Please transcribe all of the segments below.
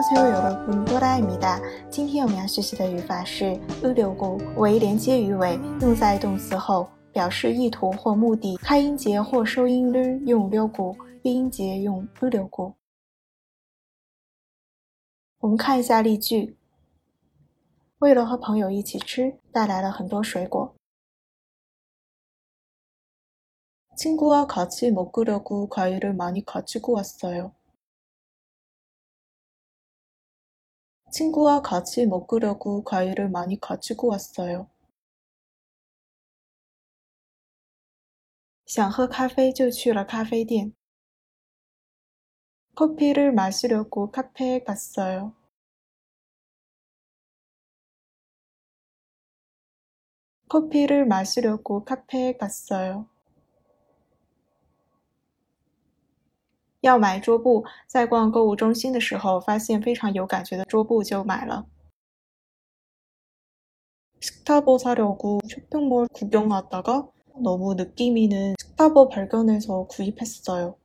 안녕하세요 여러분， 多拉입니다。今天我们要学习的语法是으려고，为连接语尾，用在动词后，表示意图或目的。开音节或收音를用려고，闭音节用으려고。我们看一下例句。为了和朋友一起吃，带来了很多水果。친구와 같이 먹으려고 과일을 많이 가지고 왔어요. 친구와 같이 먹으려고 과일을 많이 가지고 왔어요. 想喝咖啡就去了咖啡店。커피를 마시려고 카페에 갔어요. 커피를 마시려고 카페에 갔어요. 要买桌布，在逛购物中心的时候，发现非常有感觉的桌布就买了。스타버 사려고 쇼핑몰 구경하다가 너무 느낌 있는 스타버 발견해서 구입했어요.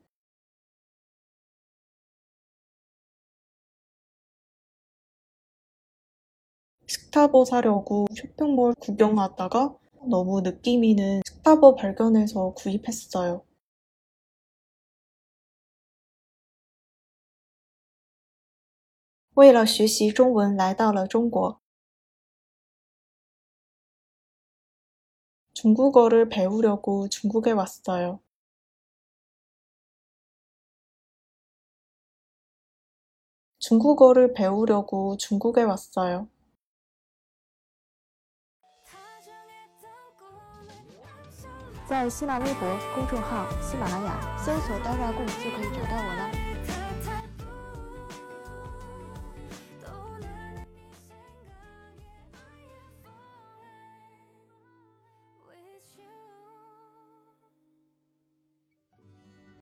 스타버 사려고 쇼핑몰 구경하다가 너무 느낌 있는 스타버 발견해서 구입했어요. 为了学习中文来到了中国。중국어를 배우려고 중국에 왔어요. 중국어를 배우려고 중국에 왔어요. 在新浪微博公众号喜马拉雅搜索刀拉贡就可以找到我。